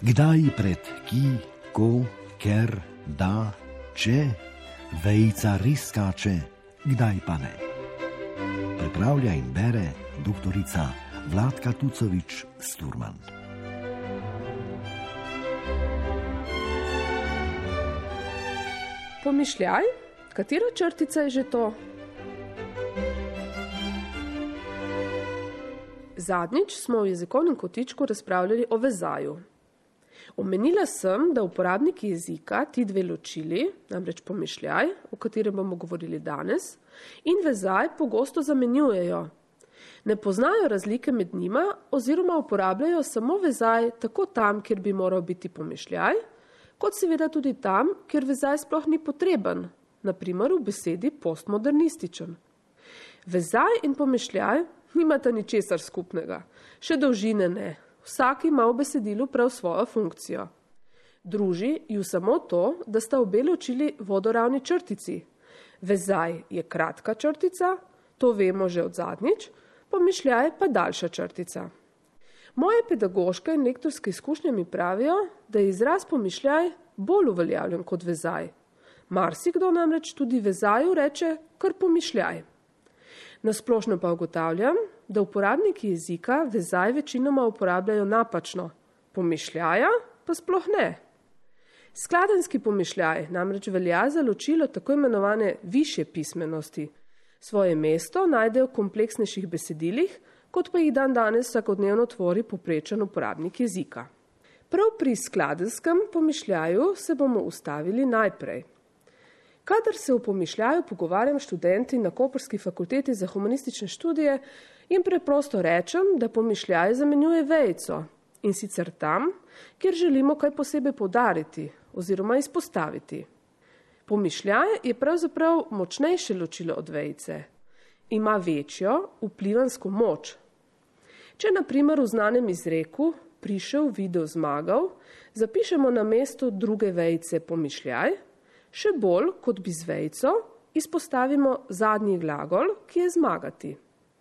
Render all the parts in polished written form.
Kdaj pred ki, ko, ker, da, če, vejica res skače, kdaj pa ne. Pripravlja in bere doktorica Vladka Tucovič-Sturman. Pomišljaj, katera črtica je že to? Zadnjič smo v jezikovnem kotičku razpravljali o vezaju. Omenila sem, da uporabniki jezika ti dve ločili, namreč pomišljaj, o katerem bomo govorili danes, in vezaj pogosto zamenjujejo. Ne poznajo razlike med njima oziroma uporabljajo samo vezaj tako tam, kjer bi moral biti pomišljaj, kot seveda tudi tam, kjer vezaj sploh ni potreben, na primer v besedi postmodernističen. Vezaj in pomišljaj nimata ničesar skupnega, še dolžine ne. Vsak ima v besedilu prav svojo funkcijo. Druži ju samo to, da sta obe ločili vodoravni črtici. Vezaj je kratka črtica, to vemo že od zadnjič, pomišljaj pa daljša črtica. Moje pedagoške in lektorske izkušnje mi pravijo, da je izraz pomišljaj bolj uveljavljen kot vezaj. Marsikdo namreč tudi vezaju reče kar pomišljaj. Nasplošno pa ugotavljam, da uporabniki jezika vezaj večinoma uporabljajo napačno, pomišljaja pa sploh ne. Skladenjski pomišljaj namreč velja za ločilo tako imenovane višje pismenosti. Svoje mesto najdejo v kompleksnejših besedilih, kot pa jih danes vsakodnevno tvori povprečen uporabnik jezika. Prav pri skladenjskem pomišljaju se bomo ustavili najprej. Kadar se v pomišljaju pogovarjam študenti na Koprski fakulteti za humanistične študije, jim preprosto rečem, da pomišljaj zamenjuje vejico in sicer tam, kjer želimo kaj posebej poudariti oziroma izpostaviti. Pomišljaj je pravzaprav močnejše ločilo od vejice. Ima večjo vplivansko moč. Če na primer v znanem izreku prišel, videl, zmagal, zapišemo na mesto druge vejice pomišljaj, še bolj, kot bi z vejico, izpostavimo zadnji glagol, ki je zmagati.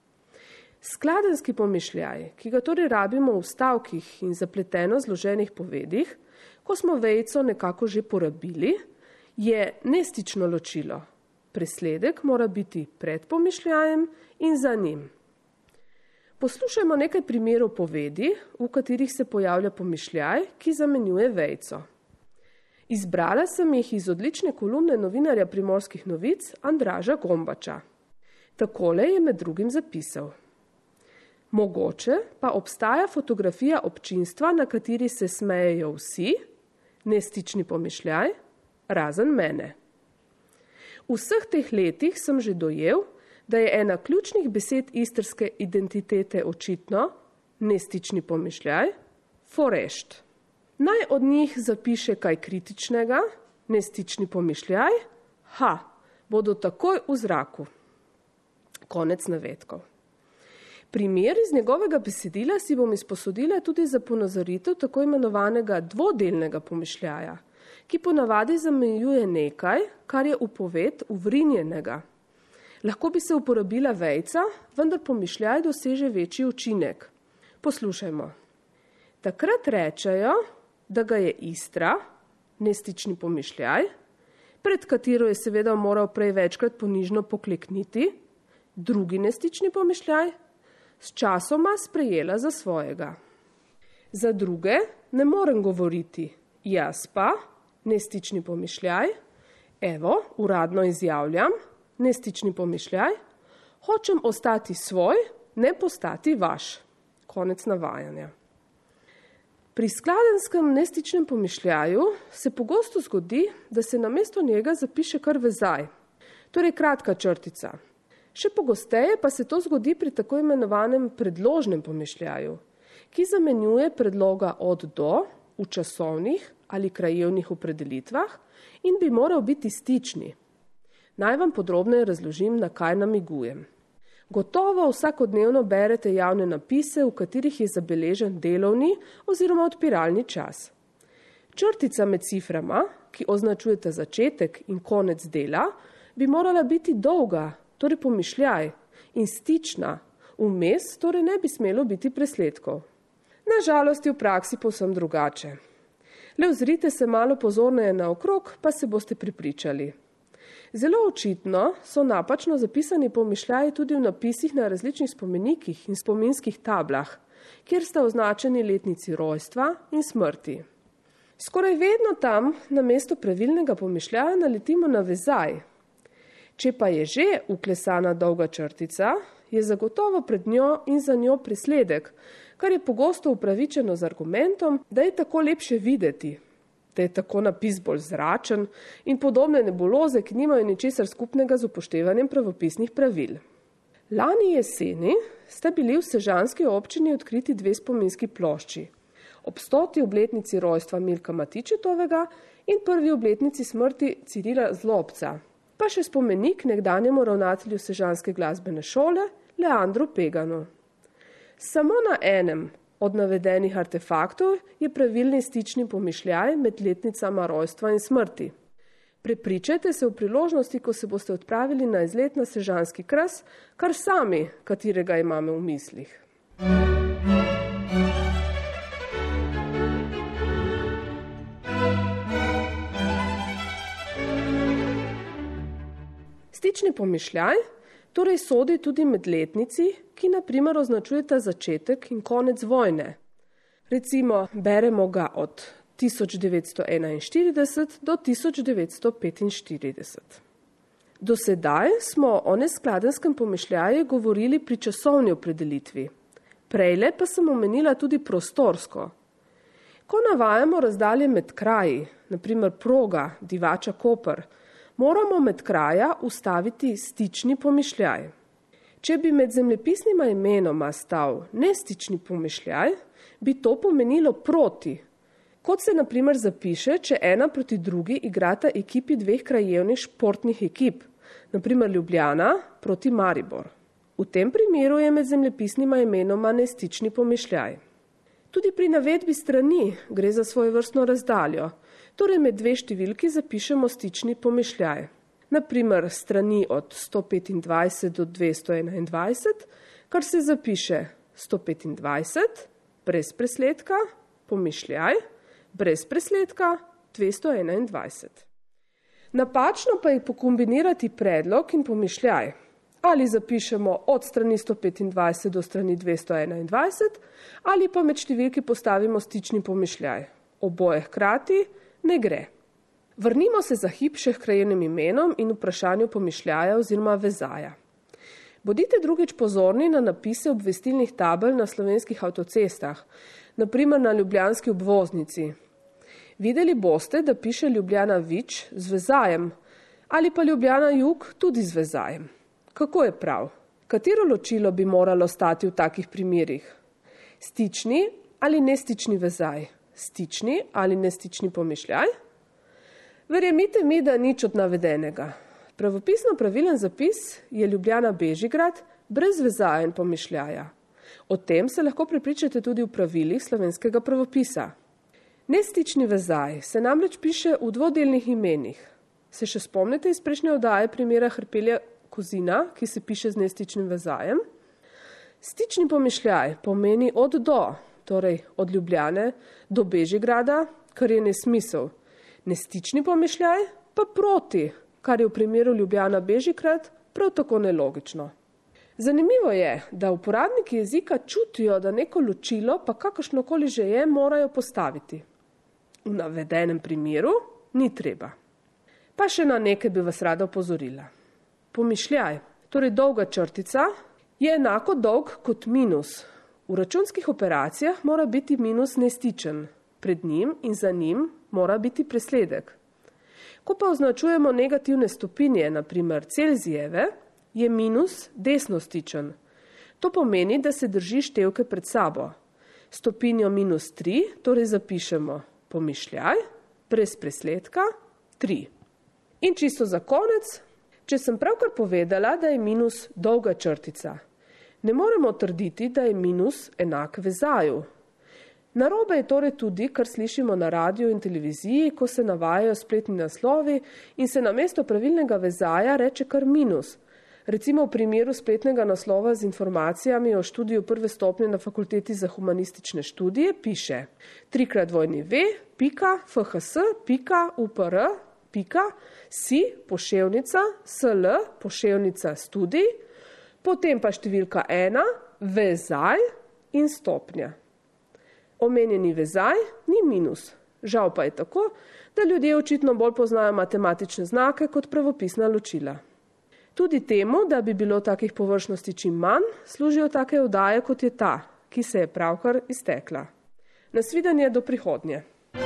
Skladenjski pomišljaj, ki ga torej rabimo v stavkih in zapleteno zloženih povedih, ko smo vejico nekako že porabili, je nestično ločilo. Presledek mora biti pred pomišljajem in za njim. Poslušajmo nekaj primerov povedi, v katerih se pojavlja pomišljaj, ki zamenjuje vejico. Izbrala sem jih iz odlične kolumne novinarja Primorskih novic Andraža Gombača. Takole je med drugim zapisal. Mogoče pa obstaja fotografija občinstva, na kateri se smejejo vsi, nestični pomišljaj, razen mene. V vseh teh letih sem že dojel, da je ena ključnih besed istrske identitete očitno, nestični pomišljaj, forešt. Naj od njih zapiše kaj kritičnega, nestični pomišljaj, bodo takoj v zraku. Konec navedkov. Primer iz njegovega besedila si bom izposodila tudi za ponazoritev tako imenovanega dvodelnega pomišljaja, ki ponavadi zamejuje nekaj, kar je v poved uvrinjenega. Lahko bi se uporabila vejica, vendar pomišljaj doseže večji učinek. Poslušajmo. Takrat rečejo, da ga je Istra, nestični pomišljaj, pred katero je seveda moral prej večkrat ponižno poklekniti, drugi nestični pomišljaj, s časoma sprejela za svojega. Za druge ne morem govoriti, jaz pa, nestični pomišljaj, uradno izjavljam, nestični pomišljaj, hočem ostati svoj, ne postati vaš. Konec navajanja. Pri skladenjskem nestičnem pomišljaju se pogosto zgodi, da se namesto njega zapiše kar vezaj, torej kratka črtica. Še pogosteje pa se to zgodi pri tako imenovanem predložnem pomišljaju, ki zamenjuje predloga od do v časovnih ali krajevnih opredelitvah in bi moral biti stični. Naj vam podrobneje razložim, na kaj namigujem. Gotovo vsakodnevno berete javne napise, v katerih je zabeležen delovni oziroma odpiralni čas. Črtica med ciframa, ki označujeta začetek in konec dela, bi morala biti dolga, torej pomišljaj, in stična, vmes torej ne bi smelo biti presledkov. Na žalost je v praksi povsem drugače. Le ozrite se malo pozorneje naokrog, pa se boste prepričali. Zelo očitno so napačno zapisani pomišljaji tudi v napisih na različnih spomenikih in spominskih tablah, kjer sta označeni letnici rojstva in smrti. Skoraj vedno tam na mesto pravilnega pomišljaja naletimo na vezaj. Če pa je že uklesana dolga črtica, je zagotovo pred njo in za njo presledek, kar je pogosto upravičeno z argumentom, da je tako lepše videti, da je tako napis bolj zračen in podobne nebuloze, ki nimajo ničesar skupnega z upoštevanjem pravopisnih pravil. Lani jeseni sta bili v sežanski občini odkriti 2 spominski plošči. Ob 100. obletnici rojstva Milka Matičetovega in 1. obletnici smrti Cirila Zlobca, pa še spomenik nekdanjemu ravnatelju sežanske glasbene šole Leandru Peganu. Samo na enem od navedenih artefaktov je pravilni stični pomišljaj med letnicama rojstva in smrti. Prepričajte se v priložnosti, ko se boste odpravili na izlet na sežanski kras, kar sami, katerega imamo v mislih. Stični pomišljaj torej sodi tudi med letnici, ki na primer označujeta začetek in konec vojne. Recimo, beremo ga od 1941 do 1945. Do sedaj smo o neskladenskem pomišljaju govorili pri časovni opredelitvi. Prejle pa sem omenila tudi prostorsko. Ko navajamo razdalje med kraji, naprimer Proga, Divača, Koper, moramo med kraja ustaviti stični pomišljaj. Če bi med zemljepisnima imenoma stal nestični pomišljaj, bi to pomenilo proti. Kot se na primer zapiše, če ena proti drugi igrata ekipi 2 krajevnih športnih ekip, naprimer Ljubljana proti Maribor. V tem primeru je med zemljepisnima imenoma nestični pomišljaj. Tudi pri navedbi strani gre za svojevrstno razdaljo, torej med 2 številki zapišemo stični pomišljaj. Naprimer strani od 125 do 221, kar se zapiše 125, brez presledka, pomišljaj, brez presledka 221. Napačno pa je pokombinirati predlog in pomišljaj. Ali zapišemo od strani 125 do strani 221, ali pa med številki postavimo stični pomišljaj. Oboje hkrati ne gre. Vrnimo se za hip še k krajevnim imenom in vprašanju pomišljaja oziroma vezaja. Bodite drugič pozorni na napise obvestilnih tabel na slovenskih avtocestah, naprimer na ljubljanski obvoznici. Videli boste, da piše Ljubljana Vič z vezajem ali pa Ljubljana Jug tudi z vezajem. Kako je prav? Katero ločilo bi moralo stati v takih primerih? Stični ali nestični vezaj? Stični ali nestični pomišljaj? Verjemite mi, da nič od navedenega. Pravopisno pravilen zapis je Ljubljana Bežigrad brez vezaja in pomišljaja. O tem se lahko prepričate tudi v pravilih slovenskega pravopisa. Nestični vezaj se namreč piše v dvodelnih imenih. Se še spomnite iz prejšnje oddaje primera Hrpelja Kozina, ki se piše z nestičnim vezajem? Stični pomišljaj pomeni od do, torej od Ljubljane do Bežigrada, kar je nesmisel. Nestični pomišljaj pa proti, kar je v primeru Ljubljana Bežigrad prav tako nelogično. Zanimivo je, da uporabniki jezika čutijo, da neko ločilo, pa kakršnokoli že je, morajo postaviti. V navedenem primeru ni treba. Pa še na nekaj bi vas rada opozorila. Pomišljaj, torej dolga črtica, je enako dolg kot minus. V računskih operacijah mora biti minus nestičen. Pred njim in za njim mora biti presledek. Ko pa označujemo negativne stopinje, naprimer Celzijeve, je minus desnostičen. To pomeni, da se drži števke pred sabo. Stopinjo minus 3, torej zapišemo pomišljaj, brez presledka 3. In čisto za konec, če sem pravkar povedala, da je minus dolga črtica, ne moremo trditi, da je minus enak vezaju. Narobe je torej tudi, kar slišimo na radiju in televiziji, ko se navajajo spletni naslovi in se namesto pravilnega vezaja reče kar minus. Recimo v primeru spletnega naslova z informacijami o študiju prve stopnje na Fakulteti za humanistične študije piše 3x2fhs.upr.si /studij, potem pa številka 1, vezaj in stopnja. Omenjeni vezaj ni minus. Žal pa je tako, da ljudje očitno bolj poznajo matematične znake kot pravopisna ločila. Tudi temu, da bi bilo takih površnosti čim manj, služijo take oddaje, kot je ta, ki se je pravkar iztekla. Nasvidenje do prihodnje.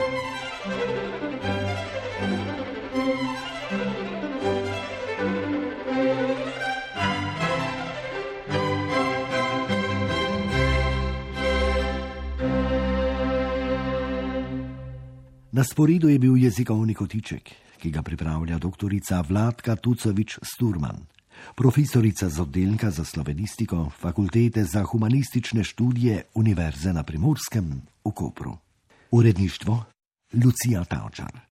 Na sporedu je bil jezikovni kotiček, ki ga pripravlja doktorica Vladka Tucovič-Sturman, profesorica z oddelka za slovenistiko Fakultete za humanistične študije Univerze na Primorskem v Kopru. Uredništvo Lucija Tavčar.